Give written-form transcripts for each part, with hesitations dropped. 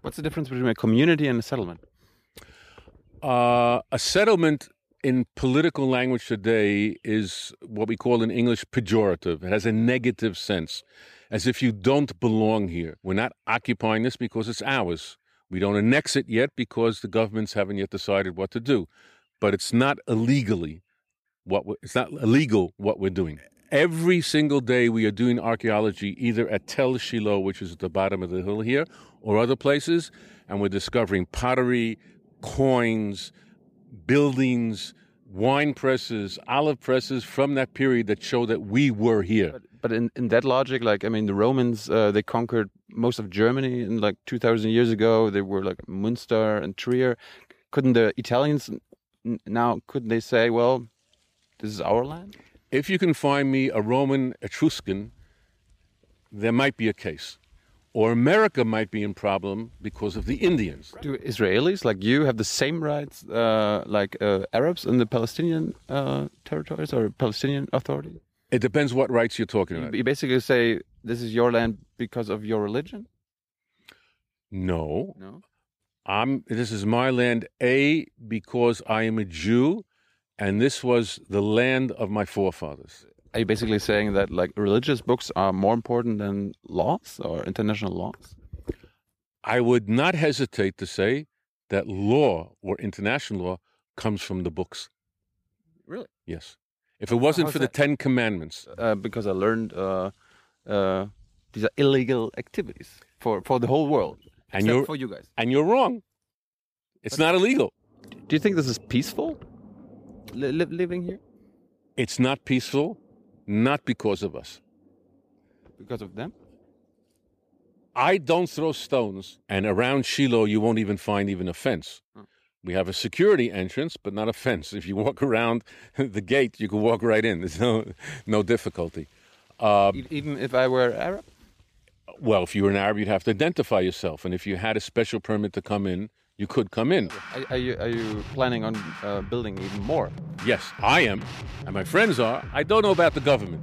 What's the difference between a community and a settlement? A settlement in political language today is what we call in English pejorative. It has a negative sense, as if you don't belong here. We're not occupying this because it's ours. We don't annex it yet because the governments haven't yet decided what to do. But it's not illegally it's not illegal what we're doing. Every single day we are doing archaeology either at Tel Shiloh, which is at the bottom of the hill here, or other places, and we're discovering pottery, coins, buildings, wine presses, olive presses from that period that show that we were here. But in that logic, like, I mean, the Romans, they conquered most of Germany in like 2,000 years ago. They were like Münster and Trier. Couldn't the Italians couldn't they say, well, this is our land? If you can find me a Roman Etruscan, there might be a case. Or America might be in problem because of the Indians. Do Israelis like you have the same rights like Arabs in the Palestinian territories or Palestinian Authority? It depends what rights you're talking about. You basically say this is your land because of your religion? No. No. This is my land, because I am a Jew, and this was the land of my forefathers. Are you basically saying that like religious books are more important than laws or international laws? I would not hesitate to say that law or international law comes from the books. Really? Yes. If it wasn't for the Ten Commandments. Because I learned these are illegal activities for the whole world, except for you guys. And you're wrong. It's not illegal. Do you think this is peaceful, living here? It's not peaceful, not because of us. Because of them? I don't throw stones, and around Shiloh you won't even find a fence. We have a security entrance, but not a fence. If you walk around the gate, you can walk right in. There's no difficulty. Even if I were Arab? Well, if you were an Arab, you'd have to identify yourself, and if you had a special permit to come in, you could come in. Are you planning on building even more? Yes, I am, and my friends are. I don't know about the government.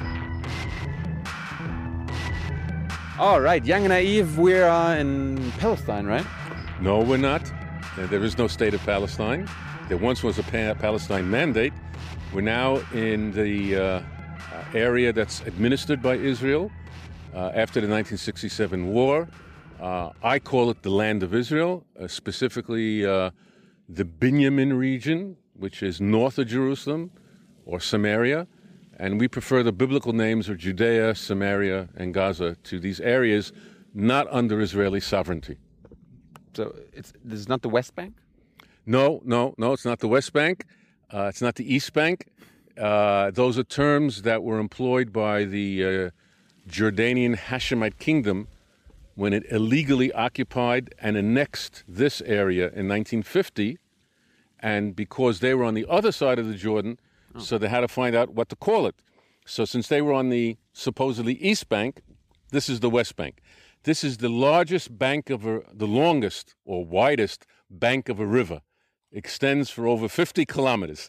All right, Young and Naive, we are in Palestine, right? No, we're not. There is no state of Palestine. There once was a Palestine mandate. We're now in the area that's administered by Israel after the 1967 war. I call it the Land of Israel, specifically the Binyamin region, which is north of Jerusalem, or Samaria. And we prefer the biblical names of Judea, Samaria, and Gaza to these areas not under Israeli sovereignty. So this is not the West Bank? No, it's not the West Bank. It's not the East Bank. Those are terms that were employed by the Jordanian Hashemite kingdom when it illegally occupied and annexed this area in 1950. And because they were on the other side of the Jordan, so they had to find out what to call it. So since they were on the supposedly East Bank, this is the West Bank. This is the largest bank the longest or widest bank of a river. Extends for over 50 kilometers.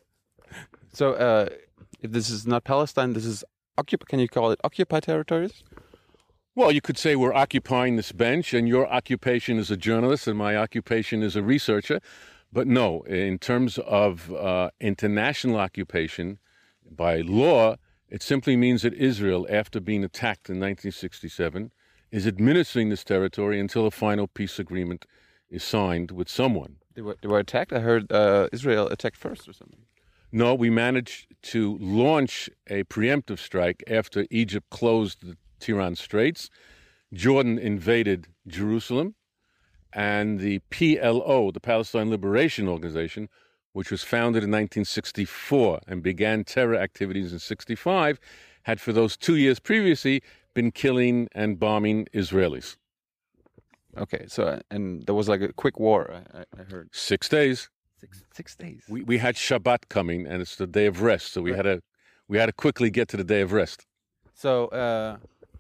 So if this is not Palestine, this is can you call it occupied territories? Well, you could say we're occupying this bench, and your occupation is a journalist, and my occupation is a researcher. But no, in terms of international occupation, by law, it simply means that Israel, after being attacked in 1967, is administering this territory until a final peace agreement is signed with someone. They were attacked? I heard Israel attacked first or something. No, we managed to launch a preemptive strike after Egypt closed the Tiran Straits. Jordan invaded Jerusalem, and the PLO, the Palestine Liberation Organization, which was founded in 1964 and began terror activities in 1965, had for those 2 years previously been killing and bombing Israelis. Okay, so and there was like a quick war, I heard. 6 days. 6 days. We had Shabbat coming, and it's the day of rest, so we had to quickly get to the day of rest. So,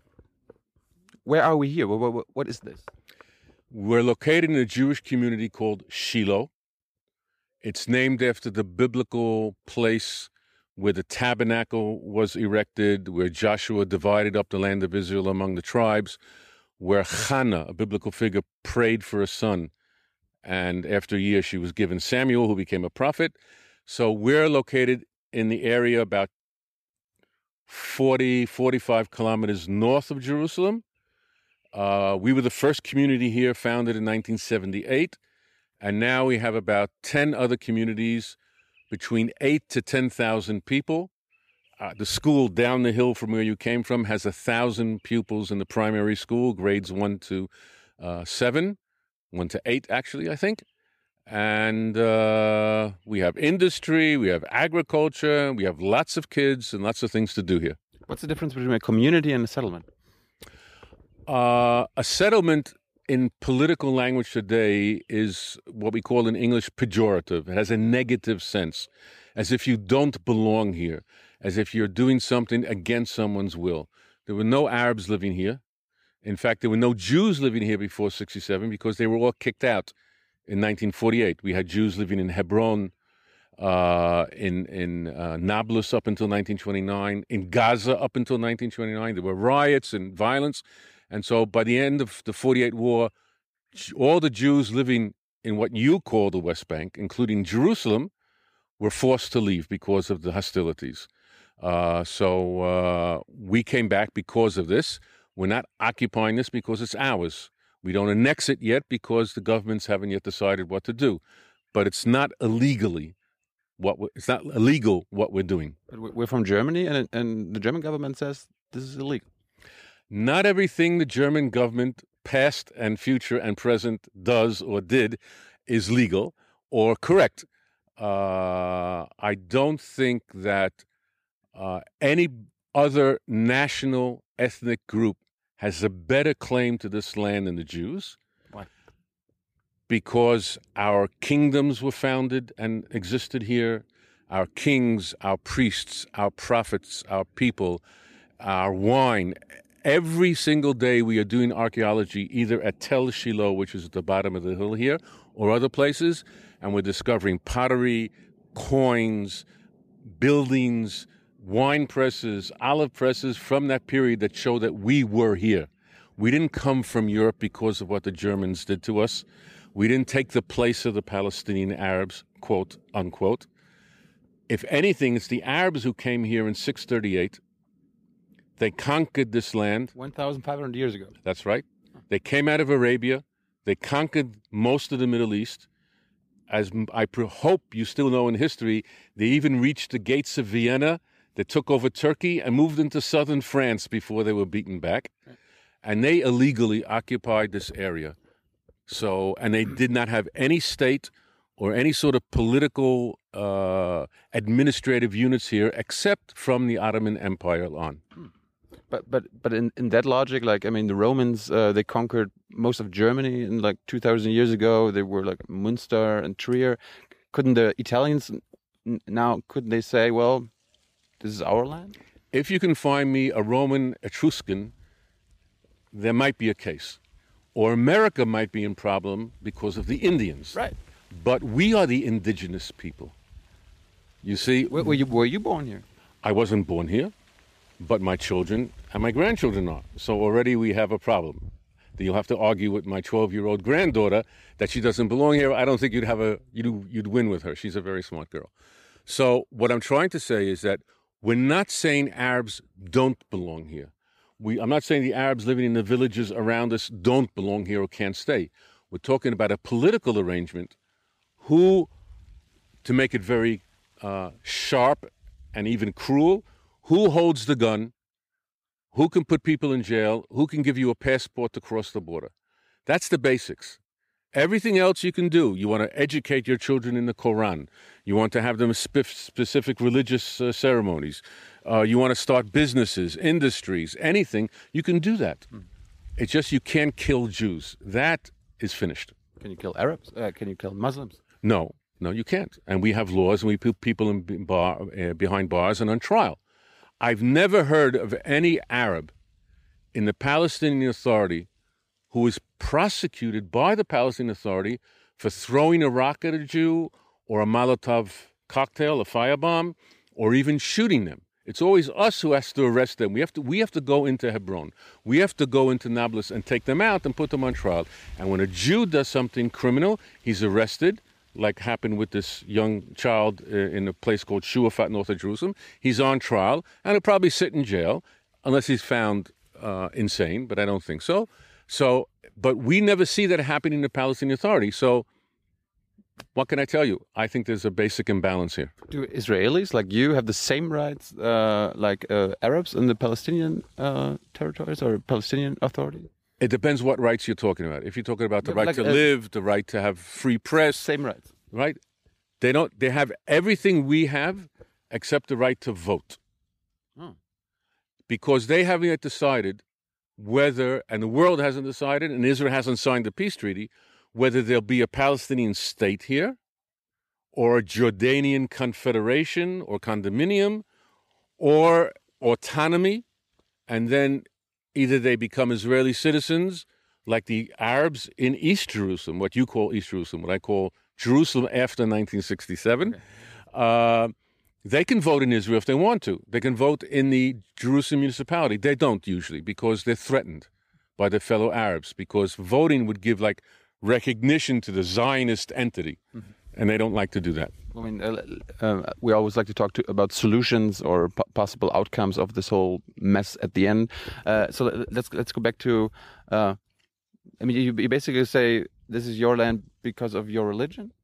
where are we here? What is this? We're located in a Jewish community called Shiloh. It's named after the biblical place where the tabernacle was erected, where Joshua divided up the land of Israel among the tribes, where Hannah, a biblical figure, prayed for a son. And after a year, she was given Samuel, who became a prophet. So we're located in the area about 40, 45 kilometers north of Jerusalem. We were the first community here, founded in 1978. And now we have about 10 other communities, between 8 to 10,000 people. The school down the hill from where you came from has 1,000 pupils in the primary school, grades 1 to 7, 1 to 8, actually, I think. And we have industry, we have agriculture, we have lots of kids and lots of things to do here. What's the difference between a community and a settlement? A settlement in political language today is what we call in English pejorative. It has a negative sense, as if you don't belong here, as if you're doing something against someone's will. There were no Arabs living here. In fact, there were no Jews living here before 1967 because they were all kicked out in 1948. We had Jews living in Hebron, in Nablus up until 1929, in Gaza up until 1929. There were riots and violence. And so by the end of the 48 war, all the Jews living in what you call the West Bank, including Jerusalem, were forced to leave because of the hostilities. So we came back because of this. We're not occupying this because it's ours. We don't annex it yet because the governments haven't yet decided what to do. But it's not illegally it's not illegal what we're doing. But we're from Germany, and the German government says this is illegal. Not everything the German government, past and future and present, does or did is legal or correct. I don't think that any other national ethnic group has a better claim to this land than the Jews. Why? Because our kingdoms were founded and existed here. Our kings, our priests, our prophets, our people, our wine. Every single day we are doing archaeology either at Tel Shiloh, which is at the bottom of the hill here, or other places, and we're discovering pottery, coins, buildings, wine presses, olive presses from that period that show that we were here. We didn't come from Europe because of what the Germans did to us. We didn't take the place of the Palestinian Arabs, quote, unquote. If anything, it's the Arabs who came here in 638. They conquered this land. 1,500 years ago. That's right. They came out of Arabia. They conquered most of the Middle East. As I hope you still know in history, they even reached the gates of Vienna. They took over Turkey and moved into southern France before they were beaten back. Right. And they illegally occupied this area. So, and they did not have any state or any sort of political administrative units here except from the Ottoman Empire on. But in that logic, like, I mean, the Romans, they conquered most of Germany in like 2,000 years ago. They were like Munster and Trier. Couldn't the Italians couldn't they say, well, this is our land? If you can find me a Roman Etruscan, there might be a case. Or America might be in problem because of the Indians. Right. But we are the indigenous people. You see? Were you born here? I wasn't born here, but my children and my grandchildren are. So already we have a problem. You'll have to argue with my 12-year-old granddaughter that she doesn't belong here. I don't think you'd win with her. She's a very smart girl. So what I'm trying to say is that we're not saying Arabs don't belong here. I'm not saying the Arabs living in the villages around us don't belong here or can't stay. We're talking about a political arrangement to make it very sharp and even cruel, who holds the gun, who can put people in jail, who can give you a passport to cross the border. That's the basics. Everything else you can do. You want to educate your children in the Quran. You want to have them specific religious ceremonies. You want to start businesses, industries, anything. You can do that. It's just you can't kill Jews. That is finished. Can you kill Arabs? Can you kill Muslims? No, you can't. And we have laws, and we put people behind bars and on trial. I've never heard of any Arab in the Palestinian Authority who was prosecuted by the Palestinian Authority for throwing a rock at a Jew or a Molotov cocktail, a firebomb, or even shooting them. It's always us who has to arrest them. We have to go into Hebron. We have to go into Nablus and take them out and put them on trial. And when a Jew does something criminal, he's arrested, like happened with this young child in a place called Shuafat, north of Jerusalem. He's on trial, and he'll probably sit in jail, unless he's found insane, but I don't think so. But we never see that happening in the Palestinian Authority. So what can I tell you? I think there's a basic imbalance here. Do Israelis like you have the same rights like Arabs in the Palestinian territories or Palestinian Authority? It depends what rights you're talking about. If you're talking about the right to live, the right to have free press. Same rights. Right? They have everything we have except the right to vote. Oh. Because they haven't yet decided whether, and the world hasn't decided, and Israel hasn't signed the peace treaty, whether there'll be a Palestinian state here, or a Jordanian confederation or condominium, or autonomy, and then either they become Israeli citizens, like the Arabs in East Jerusalem, what you call East Jerusalem, what I call Jerusalem after 1967. Okay. They can vote in Israel if they want to. They can vote in the Jerusalem municipality. They don't usually, because they're threatened by their fellow Arabs, because voting would give like recognition to the Zionist entity, and they don't like to do that. I mean, we always like to talk about solutions or possible outcomes of this whole mess at the end. So let's go back to. I mean, you basically say this is your land because of your religion.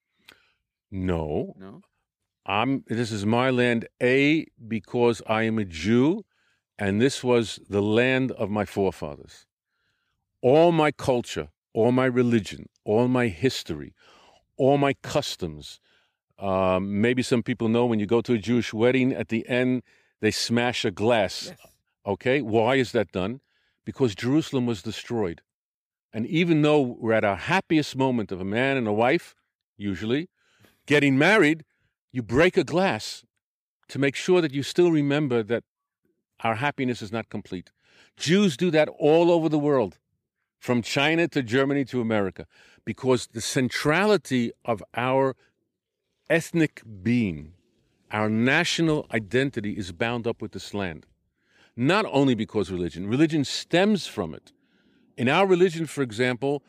No. No. This is my land, because I am a Jew, and this was the land of my forefathers. All my culture, all my religion, all my history, all my customs. Maybe some people know when you go to a Jewish wedding, at the end, they smash a glass. Yes. Okay? Why is that done? Because Jerusalem was destroyed. And even though we're at our happiest moment of a man and a wife, usually, getting married, you break a glass to make sure that you still remember that our happiness is not complete. Jews do that all over the world, from China to Germany to America, because the centrality of our ethnic being, our national identity, is bound up with this land. Not only because religion stems from it. In our religion, for example,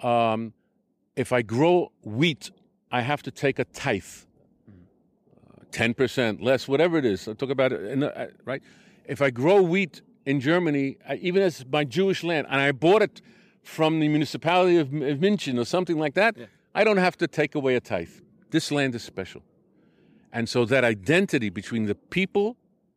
if I grow wheat, I have to take a tithe. 10%, less, whatever it is. I'll talk about it, right? If I grow wheat in Germany, even as my Jewish land, and I bought it from the municipality of München or something like that, I don't have to take away a tithe. This land is special. And so that identity between the people,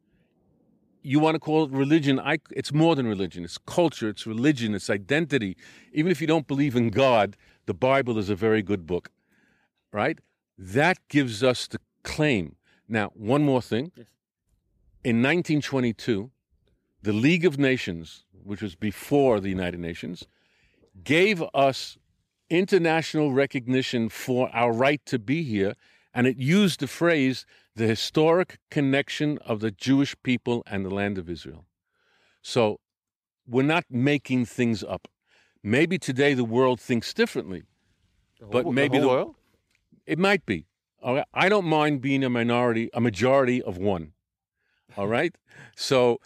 you want to call it religion, it's more than religion. It's culture, it's religion, it's identity. Even if you don't believe in God, the Bible is a very good book, right? That gives us the claim. Now, one more thing. Yes. In 1922, the League of Nations, which was before the United Nations, gave us international recognition for our right to be here, and it used the phrase, the historic connection of the Jewish people and the land of Israel. So we're not making things up. Maybe today the world thinks differently, but maybe the world? It might be. I don't mind being a majority of one. All right? So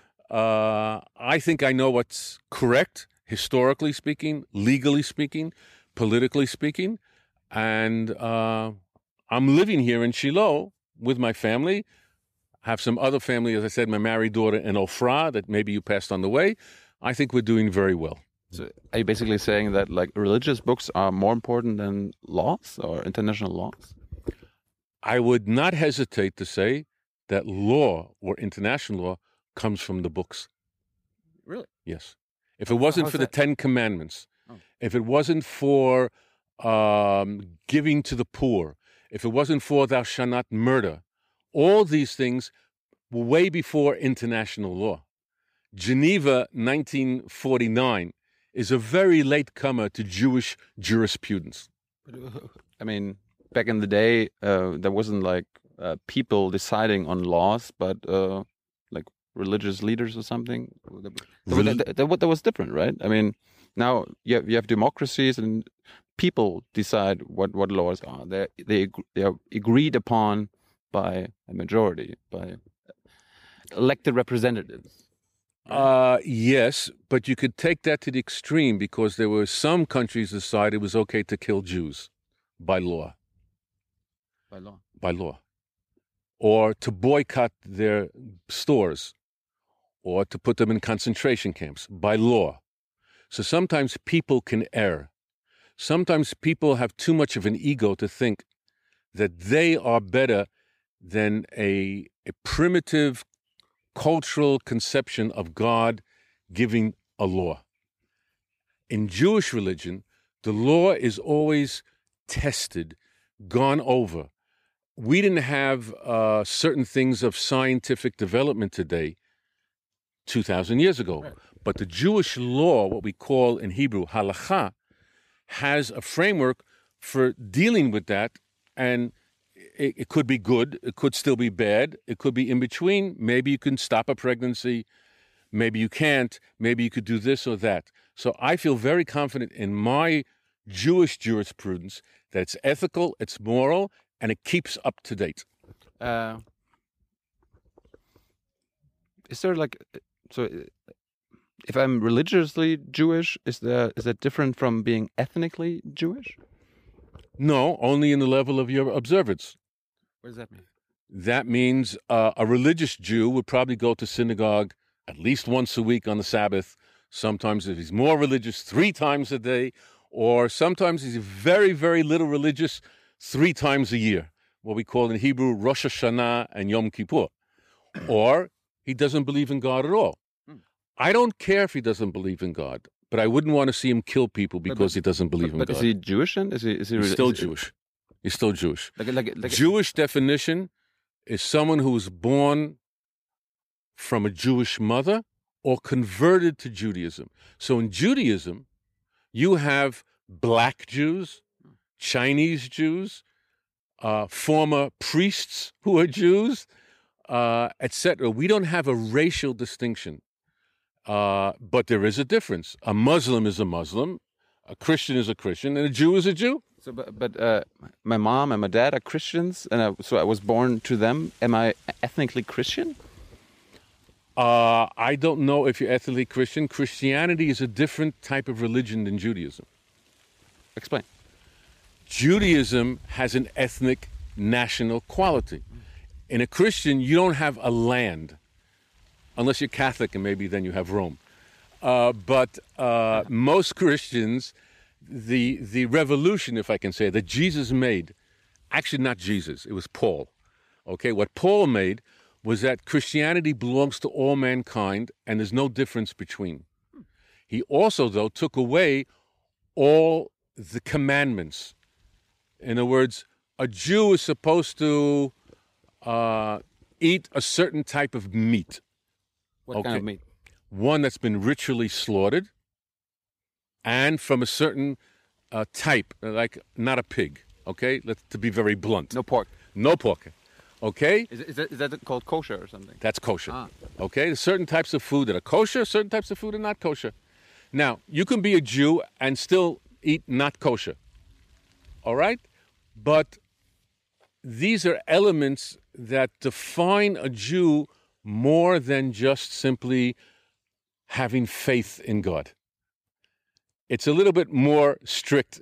I think I know what's correct, historically speaking, legally speaking, politically speaking. And I'm living here in Shiloh with my family. I have some other family, as I said, my married daughter in Ofra that maybe you passed on the way. I think we're doing very well. So are you basically saying that like religious books are more important than laws or international laws? I would not hesitate to say that law or international law comes from the books. Really? Yes. If it wasn't for the 10 Commandments, if it wasn't for giving to the poor, if it wasn't for thou shalt not murder, all these things were way before international law. Geneva 1949 is a very late comer to Jewish jurisprudence. I mean, back in the day, there wasn't like people deciding on laws, but like religious leaders or something. That was different, right? I mean, now you have democracies and people decide what laws are. They are agreed upon by a majority. elected representatives. Yes, but you could take that to the extreme because there were some countries decided it was okay to kill Jews by law. By law. By law. Or to boycott their stores, or to put them in concentration camps by law. So sometimes people can err. Sometimes people have too much of an ego to think that they are better than a primitive cultural conception of God giving a law. In Jewish religion, the law is always tested, gone over. We didn't have certain things of scientific development today 2,000 years ago. Right. But the Jewish law, what we call in Hebrew halakha, has a framework for dealing with that, and it could be good, it could still be bad, it could be in between. Maybe you can stop a pregnancy, maybe you can't, maybe you could do this or that. So I feel very confident in my Jewish jurisprudence that it's ethical, it's moral, and it keeps up to date. Is there if I'm religiously Jewish, is that different from being ethnically Jewish? No, only in the level of your observance. What does that mean? That means a religious Jew would probably go to synagogue at least once a week on the Sabbath. Sometimes, if he's more religious, 3 times a day, or sometimes he's very, very little religious, 3 times a year, what we call in Hebrew Rosh Hashanah and Yom Kippur. Or he doesn't believe in God at all. I don't care if he doesn't believe in God, but I wouldn't want to see him kill people because he doesn't believe in God. But is he Jewish then? He's still Jewish. He's still Jewish. Like Jewish definition is someone who was born from a Jewish mother or converted to Judaism. So in Judaism, you have black Jews, Chinese Jews, former priests who are Jews, etc. We don't have a racial distinction. But there is a difference. A Muslim is a Muslim, a Christian is a Christian, and a Jew is a Jew. So, but my mom and my dad are Christians, and so I was born to them. Am I ethnically Christian? I don't know if you're ethnically Christian. Christianity is a different type of religion than Judaism. Explain. Judaism has an ethnic, national quality. In a Christian, you don't have a land. Unless you're Catholic, and maybe then you have Rome. But most Christians, the revolution, if I can say, that Jesus made, actually not Jesus, it was Paul. Okay, what Paul made was that Christianity belongs to all mankind, and there's no difference between. He also, though, took away all the commandments. In other words, a Jew is supposed to eat a certain type of meat. What kind of meat? One that's been ritually slaughtered and from a certain type, like not a pig, okay? To be very blunt. No pork. No pork, okay? Is that called kosher or something? That's kosher, okay? There's certain types of food that are kosher, certain types of food are not kosher. Now, you can be a Jew and still eat not kosher, all right? But these are elements that define a Jew more than just simply having faith in God. It's a little bit more strict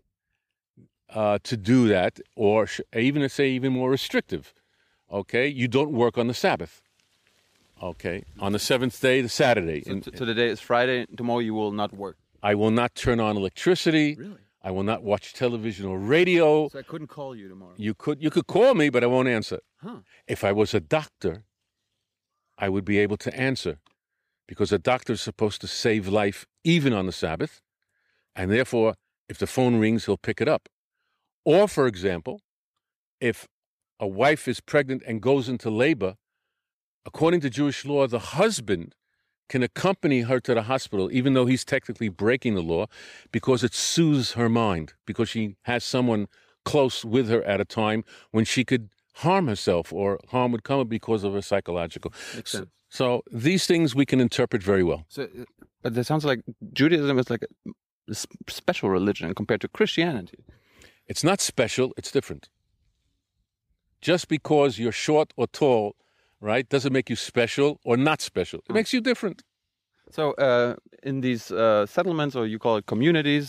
to do that, or even to say even more restrictive. Okay, you don't work on the Sabbath. Okay, on the 7th day, the Saturday. So today is Friday. Tomorrow you will not work. I will not turn on electricity. Really? I will not watch television or radio. So I couldn't call you tomorrow. You could call me, but I won't answer. Huh. If I was a doctor, I would be able to answer, because a doctor is supposed to save life even on the Sabbath, and therefore, if the phone rings, he'll pick it up. Or, for example, if a wife is pregnant and goes into labor, according to Jewish law, the husband can accompany her to the hospital, even though he's technically breaking the law, because it soothes her mind, because she has someone close with her at a time when she could harm herself, or harm would come because of her psychological. Makes sense. So these things we can interpret very well. So, but that sounds like Judaism is like a special religion compared to Christianity. It's not special, it's different. Just because you're short or tall, right? Doesn't make you special or not special. It makes you different. So in these settlements, or you call it communities,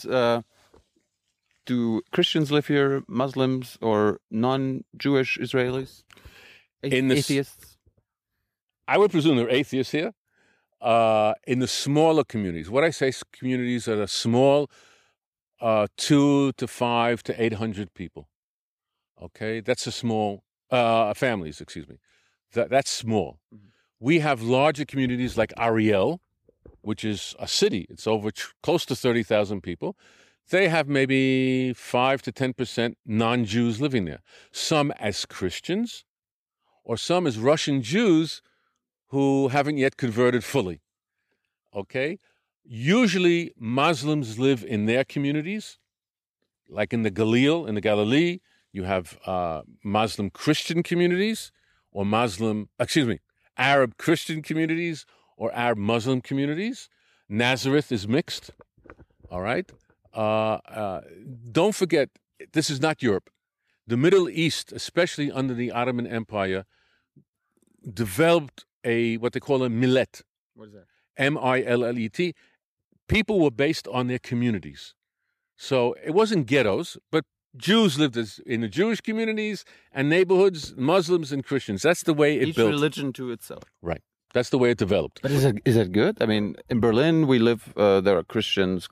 do Christians live here, Muslims, or non-Jewish Israelis? Atheists? I would presume there are atheists here. In the smaller communities, what I say communities are the small, 2 to 5 to 800 people. Okay, that's a small families. Excuse me, that's small. Mm-hmm. We have larger communities like Ariel, which is a city. It's over close to 30,000 people. They have maybe 5 to 10% non-Jews living there. Some as Christians, or some as Russian Jews who haven't yet converted fully. Okay? Usually Muslims live in their communities, like in the Galilee, you have Muslim Christian communities, or Arab Christian communities, or Arab Muslim communities. Nazareth is mixed. All right? Don't forget, this is not Europe. The Middle East, especially under the Ottoman Empire, developed what they call a millet. What is that? M-I-L-L-E-T. People were based on their communities. So it wasn't ghettos, but Jews lived in the Jewish communities and neighborhoods, Muslims and Christians. That's the way it built. Each religion to itself. Right. That's the way it developed. But is it good? I mean, in Berlin, we live, there are Christians,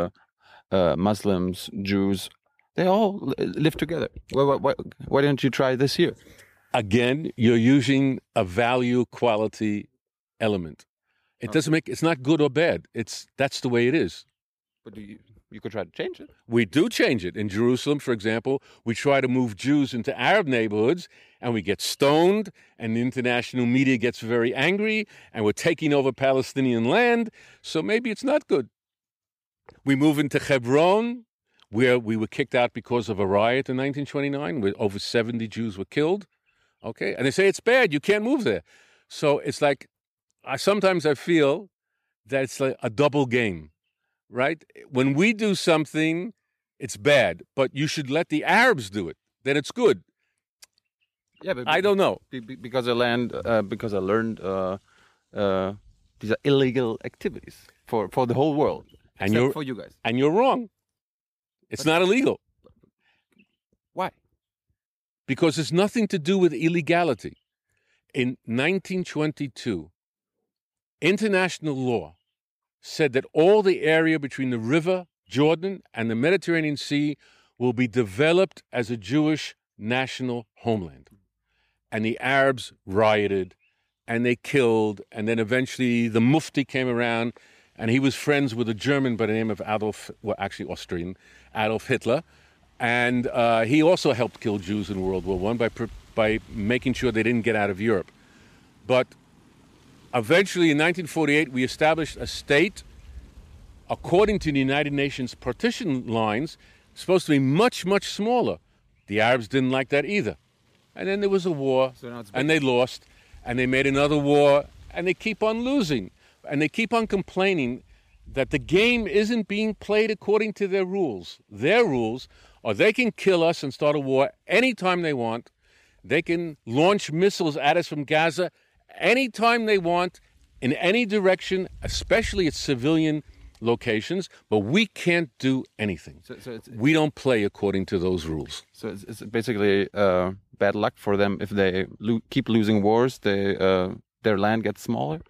Muslims, Jews. They all live together. Why don't you try this here? Again, you're using a value quality element. It doesn't it's not good or bad. That's the way it is. But you could try to change it. We do change it. In Jerusalem, for example, we try to move Jews into Arab neighborhoods, and we get stoned, and the international media gets very angry, and we're taking over Palestinian land, so maybe it's not good. We move into Hebron, where we were kicked out because of a riot in 1929, where over 70 Jews were killed. Okay, and they say it's bad, you can't move there. So it's like, sometimes I feel that it's like a double game, right? When we do something, it's bad, but you should let the Arabs do it, then it's good. Yeah, but I don't know. Because I learned these are illegal activities for the whole world, except for you guys. And you're wrong. It's not illegal. Why? Because it's nothing to do with illegality. In 1922, international law said that all the area between the river Jordan and the Mediterranean Sea will be developed as a Jewish national homeland. And the Arabs rioted, and they killed, and then eventually the Mufti came around, and he was friends with a German by the name of Austrian, Adolf Hitler, and he also helped kill Jews in World War I by making sure they didn't get out of Europe. But eventually, in 1948, we established a state, according to the United Nations partition lines, supposed to be much, much smaller. The Arabs didn't like that either. And then there was a war, and they lost, and they made another war, and they keep on losing. And they keep on complaining that the game isn't being played according to their rules. Their rules are they can kill us and start a war anytime they want. They can launch missiles at us from Gaza anytime they want, in any direction, especially at civilian locations, but we can't do anything. We don't play according to those rules. So it's basically bad luck for them if they keep losing wars. Their land gets smaller.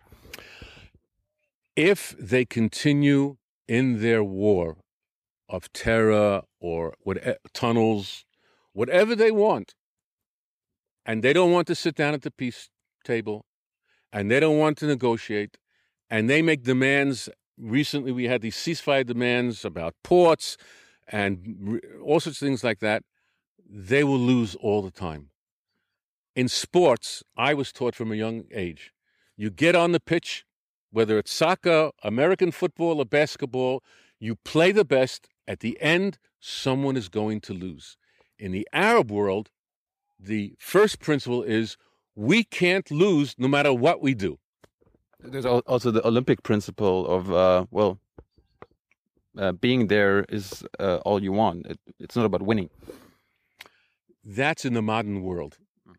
If they continue in their war of terror or tunnels, whatever they want, and they don't want to sit down at the peace table, and they don't want to negotiate, and they make demands. Recently, we had these ceasefire demands about ports and all sorts of things like that. They will lose all the time. In sports, I was taught from a young age, you get on the pitch, whether it's soccer, American football, or basketball, you play the best. At the end, someone is going to lose. In the Arab world, the first principle is we can't lose no matter what we do. There's also the Olympic principle of, being there is all you want. It's not about winning. That's in the modern world.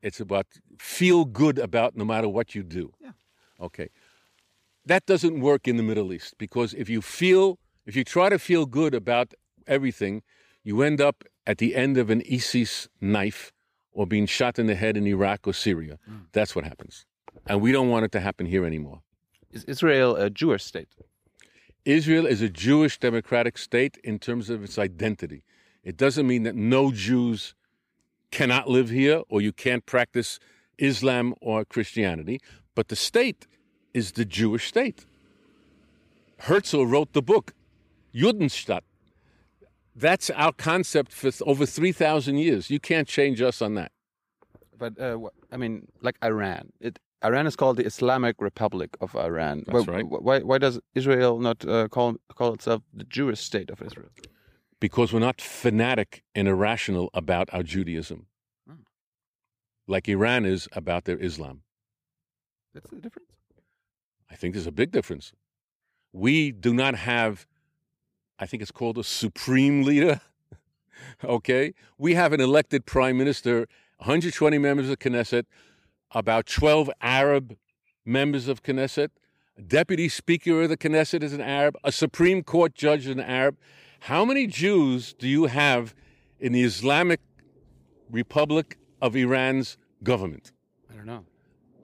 It's about feel good about no matter what you do. Yeah. Okay. That doesn't work in the Middle East because if you try to feel good about everything, you end up at the end of an ISIS knife or being shot in the head in Iraq or Syria. That's what happens. And we don't want it to happen here anymore. Is Israel a Jewish state? Israel is a Jewish democratic state in terms of its identity. It doesn't mean that no Jews cannot live here or you can't practice Islam or Christianity, but the state is the Jewish state. Herzl wrote the book, Judenstadt. That's our concept for over 3,000 years. You can't change us on that. But, I mean, like Iran. Iran is called the Islamic Republic of Iran. That's right. Why does Israel not call itself the Jewish state of Israel? Because we're not fanatic and irrational about our Judaism, like Iran is about their Islam. That's the difference? I think there's a big difference. We do not have, I think it's called a supreme leader, okay? We have an elected prime minister, 120 members of Knesset, about 12 Arab members of Knesset, a deputy speaker of the Knesset is an Arab, a Supreme Court judge is an Arab. How many Jews do you have in the Islamic Republic of Iran's government? I don't know.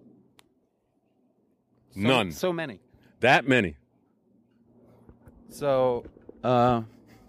None. So many. That many. So, how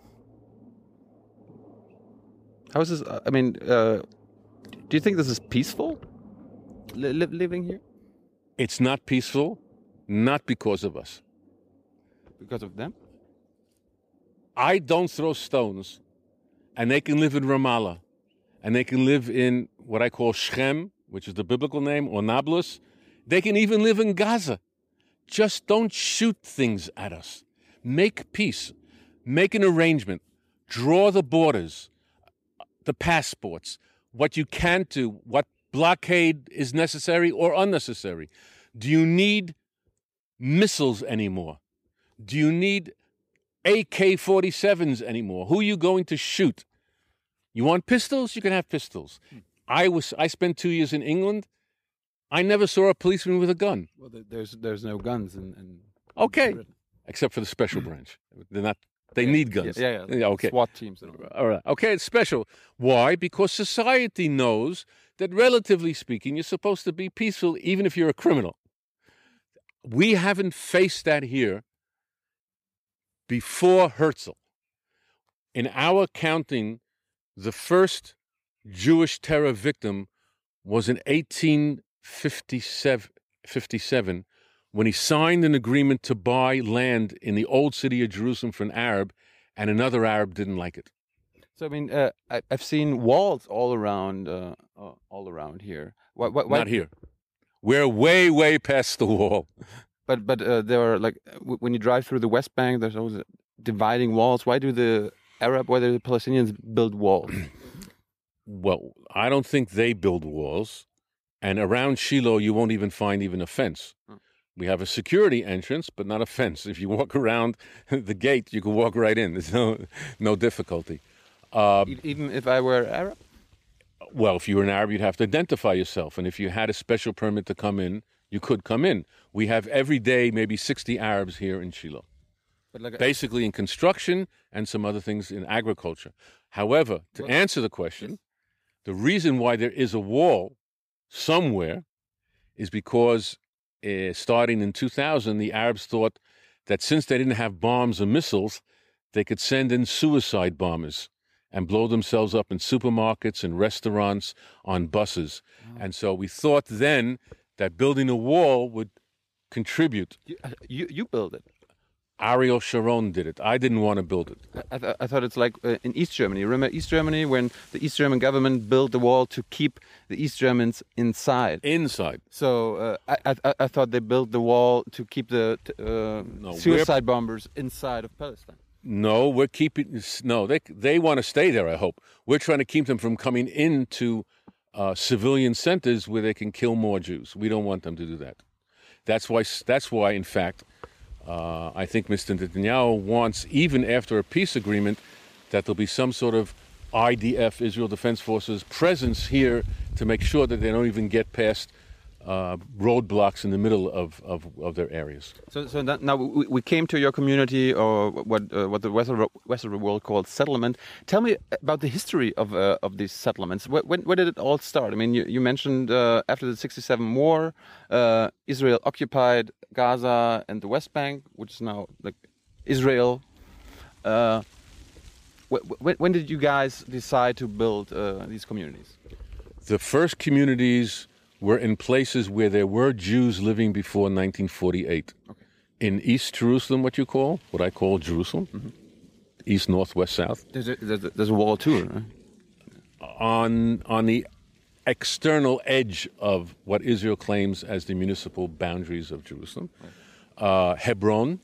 is this? I mean, do you think this is peaceful? Living here? It's not peaceful, not because of us. Because of them? I don't throw stones, and they can live in Ramallah, and they can live in what I call Shechem, which is the biblical name, or Nablus. They can even live in Gaza. Just don't shoot things at us. Make peace. Make an arrangement. Draw the borders, the passports, what you can do, what blockade is necessary or unnecessary. Do you need missiles anymore? Do you need AK-47s anymore? Who are you going to shoot? You want pistols? You can have pistols. I spent 2 years in England. I never saw a policeman with a gun. Well, there's no guns in Okay, Britain. except for the special branch. They're not. They need guns. Yeah. Okay. SWAT teams. And all. All right. Okay, it's special. Why? Because society knows that, relatively speaking, you're supposed to be peaceful even if you're a criminal. We haven't faced that here before Herzl. In our counting, the first Jewish terror victim was in 1857 when he signed an agreement to buy land in the old city of Jerusalem for an Arab, and another Arab didn't like it. So I mean, I've seen walls all around here. Why? Not here. We're way, way past the wall. But there are like when you drive through the West Bank, there's always dividing walls. Why do the Palestinians build walls? Well, I don't think they build walls. And around Shiloh, you won't even find a fence. We have a security entrance, but not a fence. If you walk around the gate, you can walk right in. There's no difficulty. Even if I were Arab? Well, if you were an Arab, you'd have to identify yourself. And if you had a special permit to come in, you could come in. We have every day maybe 60 Arabs here in Shiloh. But basically in construction and some other things in agriculture. However, to answer the question, the reason why there is a wall somewhere is because starting in 2000, the Arabs thought that since they didn't have bombs or missiles, they could send in suicide bombers and blow themselves up in supermarkets and restaurants, on buses. Oh. And so we thought then that building a wall would contribute. You build it. Ariel Sharon did it. I didn't want to build it. I thought it's like in East Germany. Remember East Germany when the East German government built the wall to keep the East Germans inside? Inside. So I thought they built the wall to keep the suicide bombers inside of Palestine. No, we're keeping. No, they want to stay there. I hope we're trying to keep them from coming into civilian centers where they can kill more Jews. We don't want them to do that. That's why. In fact, I think Mr. Netanyahu wants, even after a peace agreement, that there'll be some sort of IDF, Israel Defense Forces, presence here to make sure that they don't even get past roadblocks in the middle of their areas. So now we came to your community, or what the Western world calls settlement. Tell me about the history of these settlements. When did it all start? I mean, you mentioned after the '67 war, Israel occupied Gaza and the West Bank, which is now like Israel. When did you guys decide to build these communities? The first communities were in places where there were Jews living before 1948. Okay. In East Jerusalem, what I call Jerusalem, East, North, West, South. There's a wall too, right? On the external edge of what Israel claims as the municipal boundaries of Jerusalem. Right. Hebron,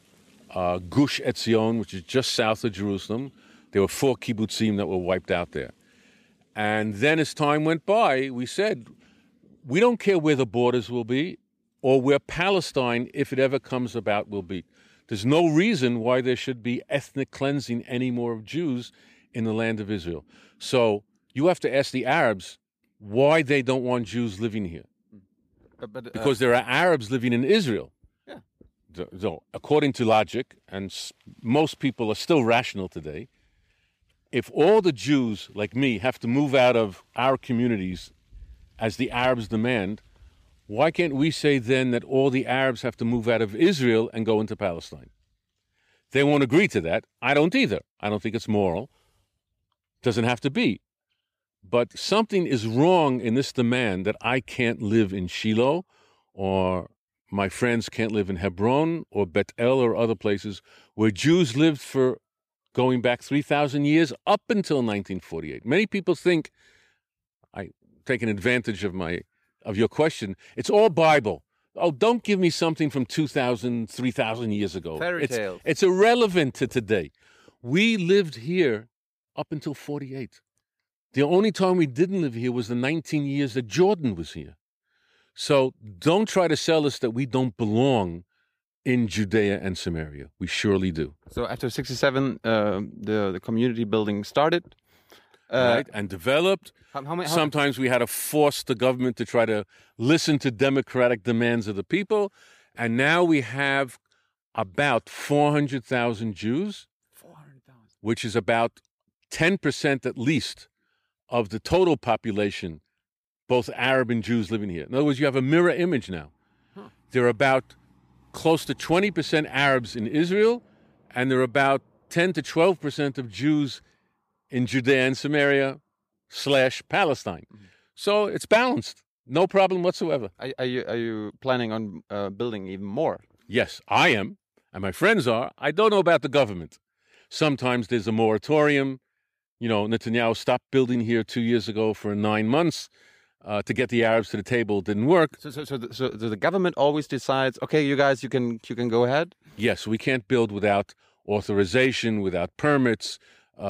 Gush Etzion, which is just south of Jerusalem. There were 4 kibbutzim that were wiped out there. And then as time went by, we said, we don't care where the borders will be or where Palestine, if it ever comes about, will be. There's no reason why there should be ethnic cleansing anymore of Jews in the land of Israel. So you have to ask the Arabs why they don't want Jews living here. Because there are Arabs living in Israel. Yeah. So according to logic, and most people are still rational today, if all the Jews like me have to move out of our communities as the Arabs demand, why can't we say then that all the Arabs have to move out of Israel and go into Palestine? They won't agree to that. I don't either. I don't think it's moral. Doesn't have to be. But something is wrong in this demand that I can't live in Shiloh, or my friends can't live in Hebron or Bet El or other places where Jews lived for going back 3,000 years up until 1948. Many people think, taking advantage of your question, it's all Bible. Oh, don't give me something from 2,000, 3,000 years ago. Fairy tales. It's irrelevant to today. We lived here up until 48. The only time we didn't live here was the 19 years that Jordan was here. So don't try to sell us that we don't belong in Judea and Samaria. We surely do. So after '67, the community building started. Right, and developed. Sometimes we had to force the government to try to listen to democratic demands of the people. And now we have about 400,000 Jews, 400,000, which is about 10% at least of the total population, both Arab and Jews living here. In other words, you have a mirror image now. Huh. There are about close to 20% Arabs in Israel, and there are about 10 to 12% of Jews in Judea and Samaria / Palestine. Mm-hmm. So it's balanced. No problem whatsoever. Are you planning on building even more? Yes, I am, and my friends are. I don't know about the government. Sometimes there's a moratorium. Netanyahu stopped building here 2 years ago for 9 months to get the Arabs to the table. It didn't work. So the government always decides, okay, you guys, you can go ahead? Yes, we can't build without authorization, without permits,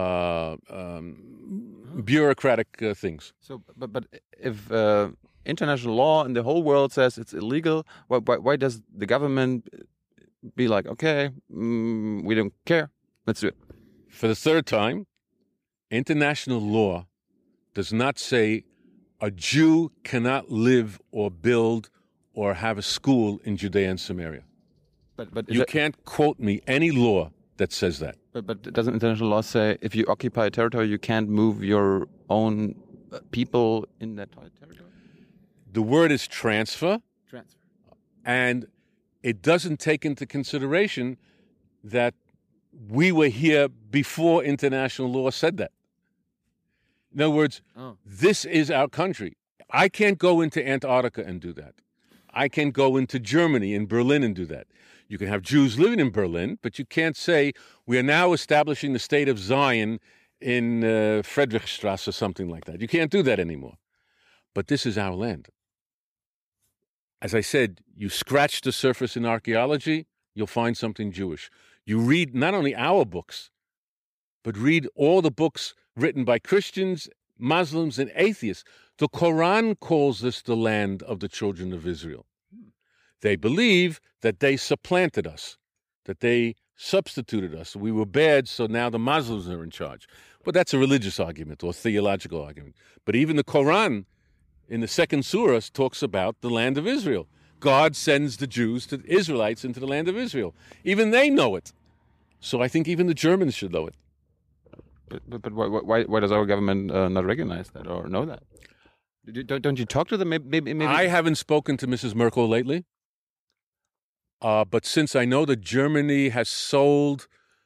bureaucratic things. So, but if international law in the whole world says it's illegal, why does the government be like, okay, we don't care, let's do it? For the third time, international law does not say a Jew cannot live or build or have a school in Judea and Samaria. But you can't quote me any law that says that. But doesn't international law say if you occupy a territory, you can't move your own people in that territory? The word is transfer. Transfer. And it doesn't take into consideration that we were here before international law said that. In other words, This is our country. I can't go into Antarctica and do that. I can't go into Germany and Berlin and do that. You can have Jews living in Berlin, but you can't say we are now establishing the state of Zion in Friedrichstrasse or something like that. You can't do that anymore. But this is our land. As I said, you scratch the surface in archaeology, you'll find something Jewish. You read not only our books, but read all the books written by Christians, Muslims, and atheists. The Quran calls this the land of the children of Israel. They believe that they supplanted us, that they substituted us. We were bad, so now the Muslims are in charge. But that's a religious argument or theological argument. But even the Quran, in the second surah, talks about the land of Israel. God sends the Jews, the Israelites, into the land of Israel. Even they know it. So I think even the Germans should know it. But why does our government not recognize that or know that? Don't you talk to them? Maybe. I haven't spoken to Mrs. Merkel lately. But since I know that Germany has sold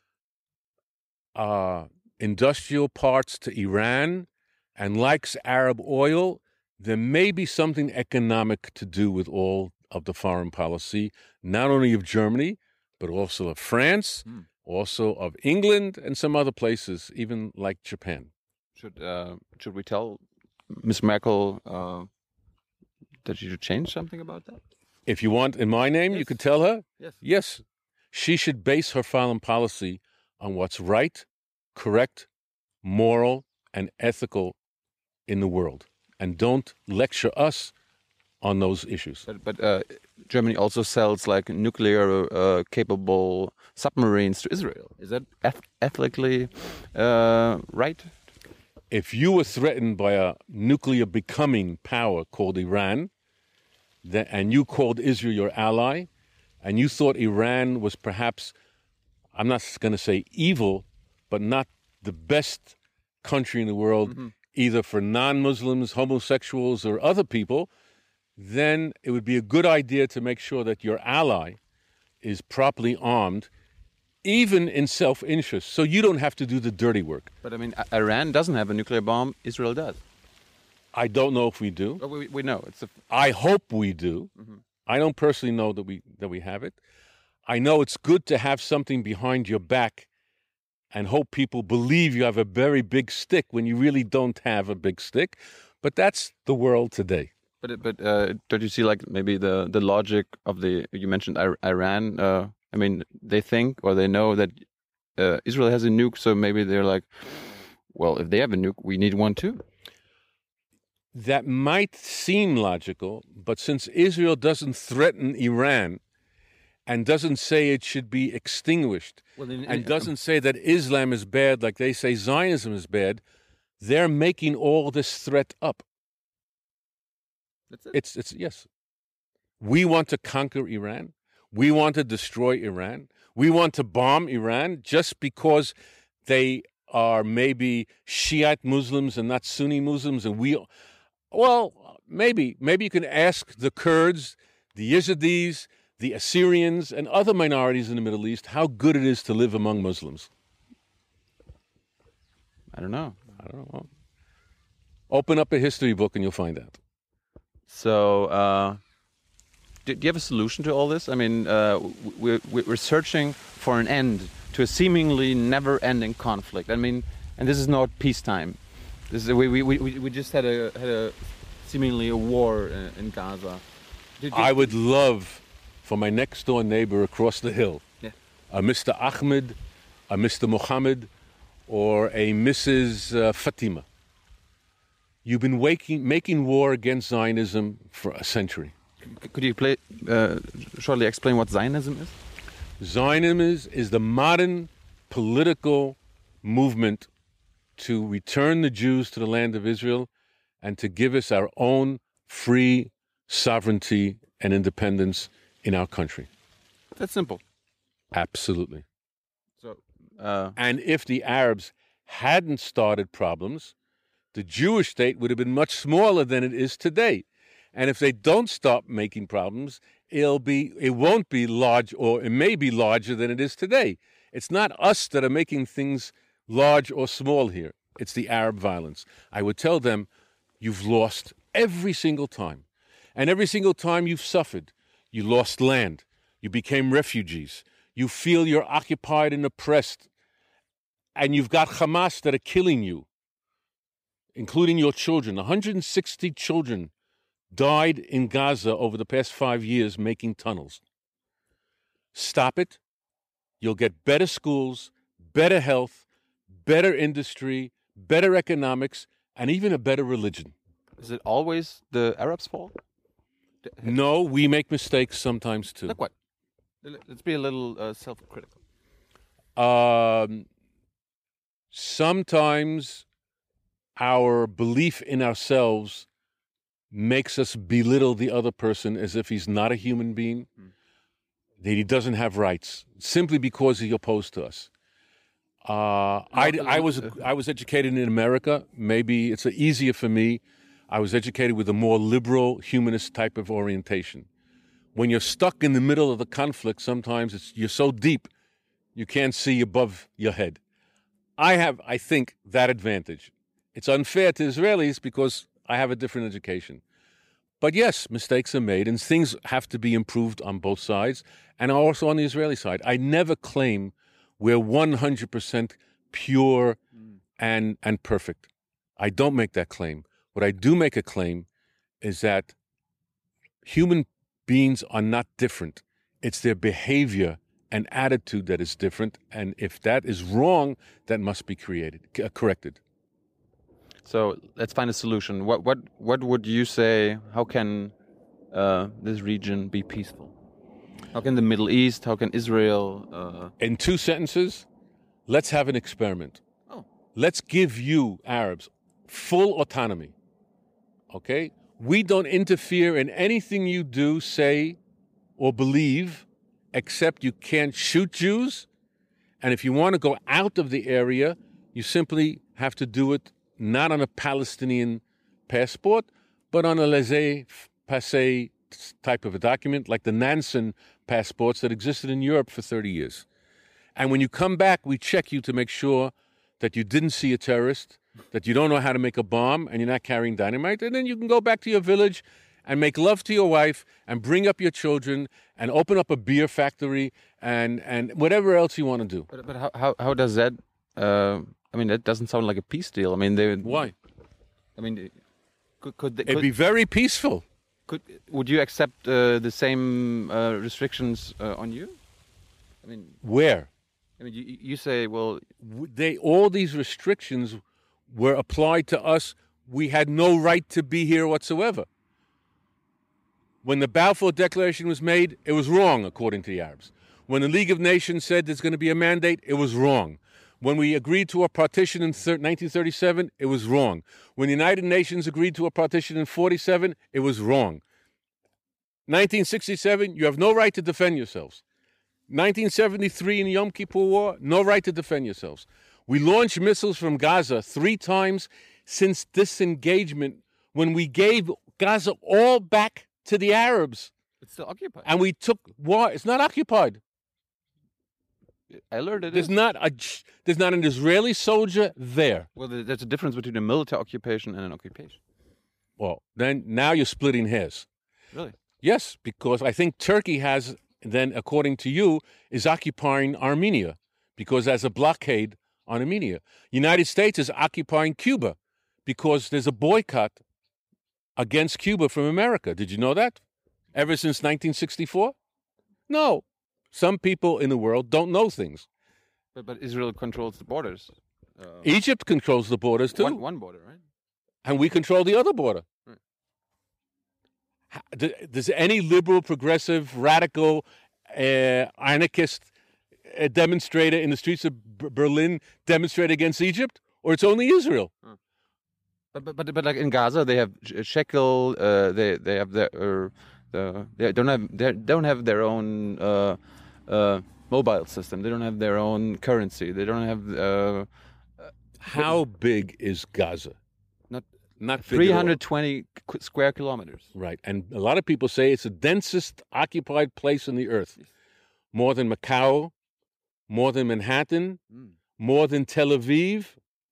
industrial parts to Iran and likes Arab oil, there may be something economic to do with all of the foreign policy, not only of Germany, but also of France, also of England, and some other places, even like Japan. Should we tell Ms. Merkel that she should change something about that? If you want in my name, you could tell her. Yes. She should base her foreign policy on what's right, correct, moral, and ethical in the world. And don't lecture us on those issues. But Germany also sells like nuclear capable submarines to Israel. Is that ethically right? If you were threatened by a nuclear becoming power called Iran, and you called Israel your ally, and you thought Iran was perhaps, I'm not going to say evil, but not the best country in the world, either for non-Muslims, homosexuals, or other people, then it would be a good idea to make sure that your ally is properly armed, even in self-interest, so you don't have to do the dirty work. But I mean, Iran doesn't have a nuclear bomb, Israel does. I don't know if we do. Well, we know. I hope we do. I don't personally know that we have it. I know it's good to have something behind your back and hope people believe you have a very big stick when you really don't have a big stick. But that's the world today. But don't you see like maybe the logic of you mentioned Iran? I mean, they think or they know that Israel has a nuke, so maybe they're like, well, if they have a nuke, we need one too. That might seem logical, but since Israel doesn't threaten Iran and doesn't say it should be extinguished and doesn't say that Islam is bad like they say Zionism is bad, they're making all this threat up. That's it? It's yes. We want to conquer Iran. We want to destroy Iran. We want to bomb Iran just because they are maybe Shiite Muslims and not Sunni Muslims, and well, maybe you can ask the Kurds, the Yazidis, the Assyrians, and other minorities in the Middle East how good it is to live among Muslims. I don't know. Well, open up a history book and you'll find out. So, do you have a solution to all this? I mean, we're searching for an end to a seemingly never-ending conflict. I mean, and this is not peacetime. This is we just had a seemingly a war in Gaza. I would love for my next door neighbor across the hill, a Mr. Ahmed, a Mr. Mohammed, or a Mrs. Fatima. You've been making war against Zionism for a century. Could you shortly explain what Zionism is? Zionism is the modern political movement to return the Jews to the land of Israel and to give us our own free sovereignty and independence in our country. That's simple. Absolutely. So, and if the Arabs hadn't started problems, the Jewish state would have been much smaller than it is today. And if they don't stop making problems, it won't be large, or it may be larger than it is today. It's not us that are making things large or small here. It's the Arab violence. I would tell them, you've lost every single time. And every single time you've suffered. You lost land. You became refugees. You feel you're occupied and oppressed. And you've got Hamas that are killing you, including your children. 160 children died in Gaza over the past 5 years making tunnels. Stop it. You'll get better schools, better health, better industry, better economics, and even a better religion. Is it always the Arabs' fault? No, we make mistakes sometimes too. Like what? Let's be a little self-critical. Sometimes our belief in ourselves makes us belittle the other person as if he's not a human being, that he doesn't have rights, simply because he's opposed to us. I was educated in America. Maybe it's easier for me. I was educated with a more liberal, humanist type of orientation. When you're stuck in the middle of the conflict, sometimes you're so deep you can't see above your head. I think, that advantage. It's unfair to Israelis because I have a different education. But yes, mistakes are made, and things have to be improved on both sides, and also on the Israeli side. I never claim we're 100% pure and perfect. I don't make that claim. What I do make a claim is that human beings are not different. It's their behavior and attitude that is different, and if that is wrong, that must be corrected. So let's find a solution. What would you say? How can this region be peaceful? How can the Middle East? How can Israel? In 2 sentences, let's have an experiment. Oh. Let's give you Arabs full autonomy. Okay, we don't interfere in anything you do, say, or believe, except you can't shoot Jews. And if you want to go out of the area, you simply have to do it not on a Palestinian passport, but on a laissez-passer type of a document, like the Nansen passports that existed in Europe for 30 years. And when you come back, we check you to make sure that you didn't see a terrorist, that you don't know how to make a bomb, and you're not carrying dynamite. And then you can go back to your village and make love to your wife and bring up your children and open up a beer factory and whatever else you want to do. But how does that? I mean, that doesn't sound like a peace deal. I mean, Why? I mean, it'd be very peaceful. Would you accept the same restrictions on you? I mean, where? I mean, you say, well, all these restrictions were applied to us. We had no right to be here whatsoever. When the Balfour Declaration was made, it was wrong, according to the Arabs. When the League of Nations said there's going to be a mandate, it was wrong. When we agreed to a partition in 1937, it was wrong. When the United Nations agreed to a partition in 1947, it was wrong. 1967, you have no right to defend yourselves. 1973 in the Yom Kippur War, no right to defend yourselves. We launched missiles from Gaza 3 times since disengagement, when we gave Gaza all back to the Arabs. It's still occupied. And we took war. It's not occupied. I learned it. There's not an Israeli soldier there. Well, there's a difference between a military occupation and an occupation. Well, then now you're splitting hairs. Really? Yes, because I think Turkey has, then, according to you, is occupying Armenia because there's a blockade on Armenia. United States is occupying Cuba because there's a boycott against Cuba from America. Did you know that? Ever since 1964? No. Some people in the world don't know things. But Israel controls the borders. Egypt controls the borders too. One border, right? And we control the other border. Right. Does any liberal, progressive, radical, anarchist demonstrator in the streets of Berlin demonstrate against Egypt? Or it's only Israel? But like in Gaza, they have shekel. They have they don't have their own mobile system. They don't have their own currency. They don't have. How big is Gaza? Not 320 square kilometers. Right, and a lot of people say it's the densest occupied place on the earth. More than Macau, more than Manhattan, more than Tel Aviv.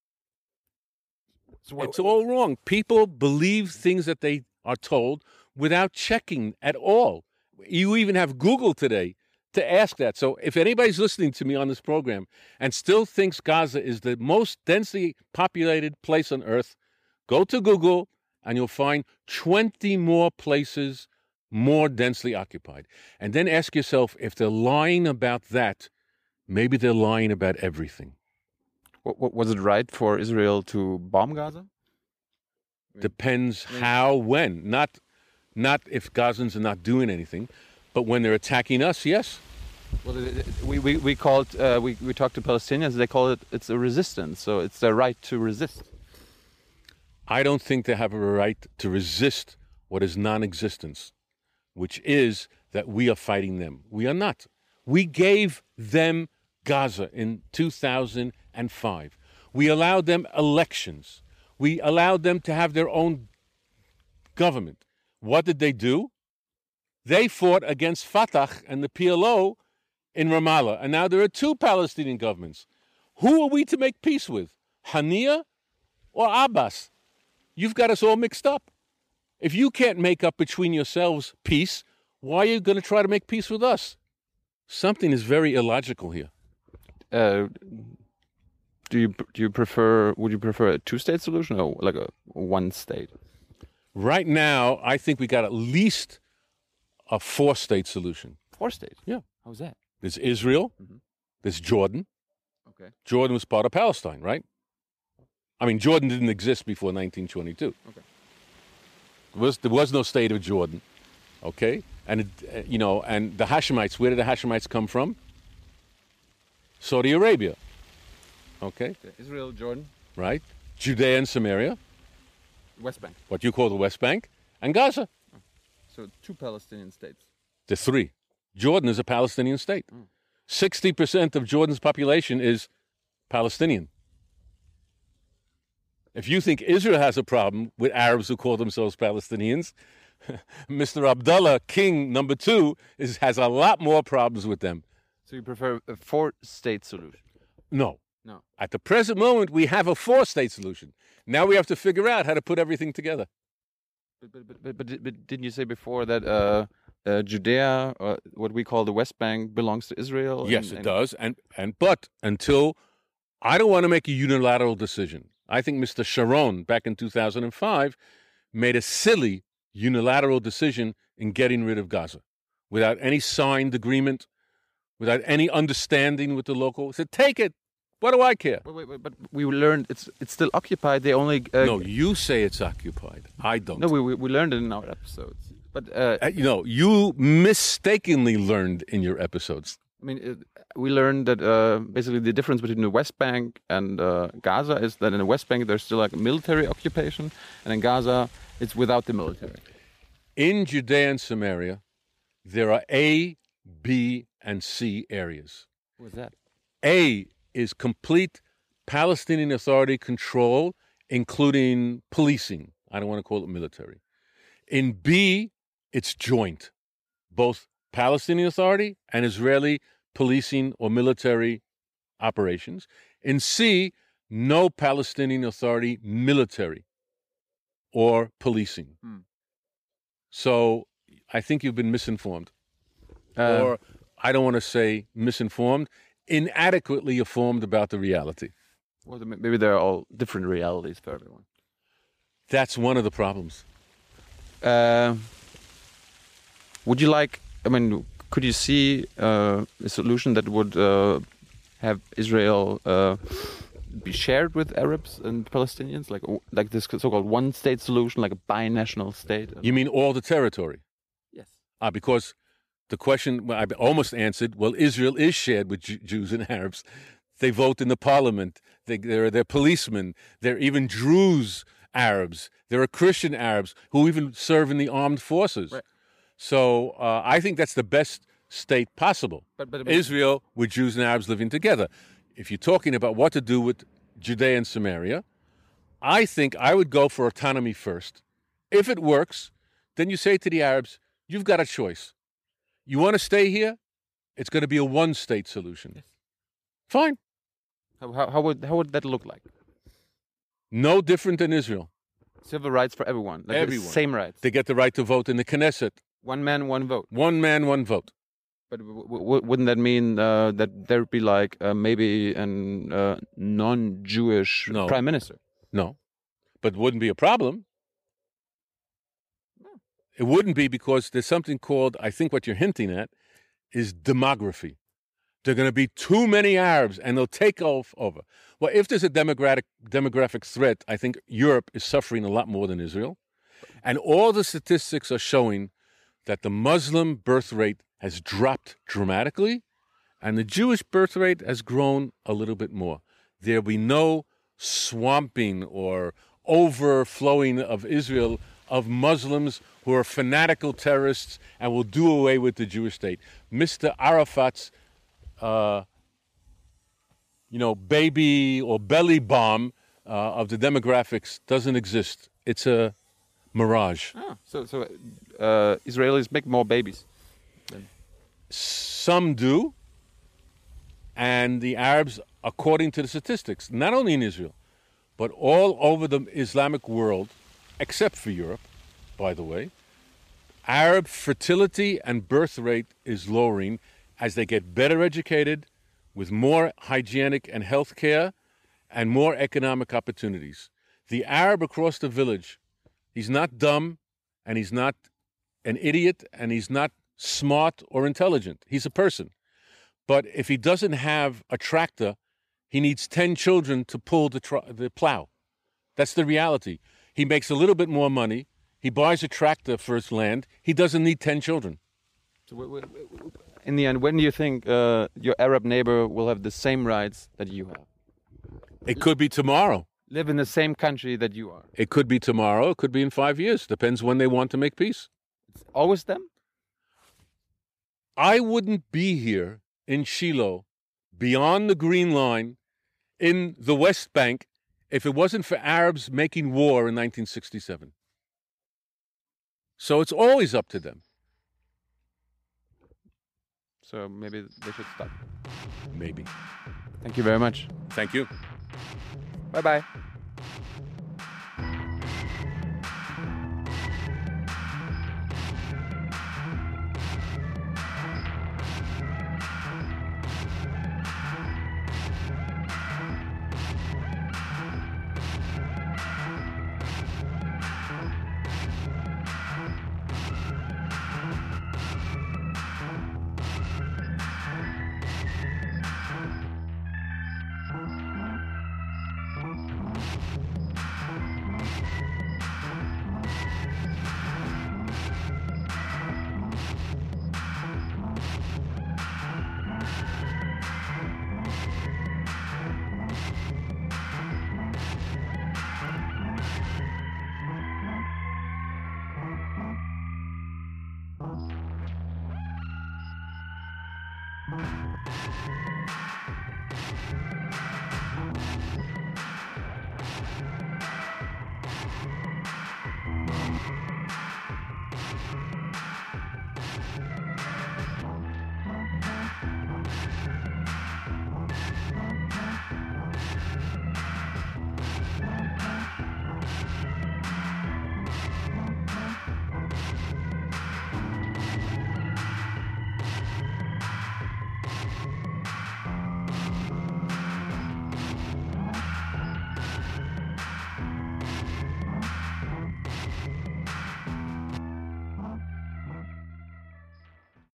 It's all wrong. People believe things that they are told without checking at all. You even have Google today to ask that. So if anybody's listening to me on this program and still thinks Gaza is the most densely populated place on earth, go to Google and you'll find 20 more places more densely occupied. And then ask yourself, if they're lying about that, maybe they're lying about everything. Was it right for Israel to bomb Gaza? Depends how, when. Not if Gazans are not doing anything, but when they're attacking us, yes. Well, we called we talked to Palestinians. They call it's a resistance. So it's their right to resist. I don't think they have a right to resist what is non-existence, which is that we are fighting them. We are not. We gave them Gaza in 2005. We allowed them elections. We allowed them to have their own government. What did they do? They fought against Fatah and the PLO in Ramallah, and now there are two Palestinian governments. Who are we to make peace with? Haniyeh or Abbas? You've got us all mixed up. If you can't make up between yourselves peace, why are you going to try to make peace with us? Something is very illogical here. Do you prefer? Would you prefer a two-state solution or like a one-state? Right now, I think we got at least a four-state solution. Four-state? Yeah. How's that? There's Israel. Mm-hmm. There's Jordan. Okay. Jordan was part of Palestine, right? I mean, Jordan didn't exist before 1922. Okay. There was no state of Jordan, okay? And and the Hashemites. Where did the Hashemites come from? Saudi Arabia. Okay. Israel, Jordan, Right. Judea and Samaria, West Bank. what you call the West Bank, and Gaza. So two Palestinian states. The three. Jordan is a Palestinian state. 60% of Jordan's population is Palestinian. If you think Israel has a problem with Arabs who call themselves Palestinians, Mr. Abdullah, King number 2, has a lot more problems with them. So you prefer a four-state solution? No. No. At the present moment, we have a four-state solution. Now we have to figure out how to put everything together. But didn't you say before that Judea, what we call the West Bank, belongs to Israel? Yes, it does. But until I don't want to make a unilateral decision. I think Mr. Sharon, back in 2005, made a silly unilateral decision in getting rid of Gaza without any signed agreement, without any understanding with the local. He said, take it. What do I care? Wait, but we learned it's still occupied. They only no, you say it's occupied. I don't. No, we learned it in our episodes. But you mistakenly learned in your episodes. I mean, we learned that basically the difference between the West Bank and Gaza is that in the West Bank there's still like a military occupation, and in Gaza it's without the military. In Judea and Samaria, there are A, B, and C areas. What's that? A is complete Palestinian Authority control, including policing. I don't want to call it military. In B, it's joint, both Palestinian Authority and Israeli policing or military operations. In C, no Palestinian Authority military or policing. So I think you've been misinformed. Or I don't want to say misinformed, inadequately informed about the reality. Well, maybe they're all different realities for everyone. That's one of the problems. Would you like, I mean, could you see a solution that would have Israel be shared with Arabs and Palestinians, like this so-called one-state solution, like a binational state? You mean all the territory? Yes. Because the question I almost answered, well, Israel is shared with Jews and Arabs. They vote in the parliament. They're policemen. They're even Druze Arabs. There are Christian Arabs who even serve in the armed forces. Right. So I think that's the best state possible. But Israel with Jews and Arabs living together. If you're talking about what to do with Judea and Samaria, I think I would go for autonomy first. If it works, then you say to the Arabs, you've got a choice. You want to stay here? It's going to be a one-state solution. Yes. Fine. How would that look like? No different than Israel. Civil rights for everyone. Like everyone. Same rights. They get the right to vote in the Knesset. One man, one vote. One man, one vote. But wouldn't that mean that there'd be like maybe a non-Jewish prime minister? No. But it wouldn't be a problem. It wouldn't be because there's something called, I think what you're hinting at, is demography. There are going to be too many Arabs and they'll take over. Well, if there's a demographic threat, I think Europe is suffering a lot more than Israel. And all the statistics are showing that the Muslim birth rate has dropped dramatically And the Jewish birth rate has grown a little bit more. There'll be no swamping or overflowing of Israel of Muslims who are fanatical terrorists and will do away with the Jewish state. Mr. Arafat's, baby or belly bomb of the demographics doesn't exist. It's a mirage. Oh, so Israelis make more babies. Some do, and the Arabs, according to the statistics, not only in Israel, but all over the Islamic world, except for Europe, by the way, Arab fertility and birth rate is lowering as they get better educated, with more hygienic and health care, and more economic opportunities. The Arab across the village, he's not dumb, and he's not an idiot, and he's not smart or intelligent. He's a person. But if he doesn't have a tractor, he needs 10 children to pull the plow. That's the reality. He makes a little bit more money. He buys a tractor for his land. He doesn't need 10 children. So in the end, when do you think your Arab neighbor will have the same rights that you have? It could be tomorrow. Live in the same country that you are. It could be tomorrow. It could be in 5 years. Depends when they want to make peace. It's always them? I wouldn't be here in Shiloh, beyond the Green Line, in the West Bank, if it wasn't for Arabs making war in 1967. So it's always up to them. So maybe they should stop. Maybe. Thank you very much. Thank you. Bye-bye.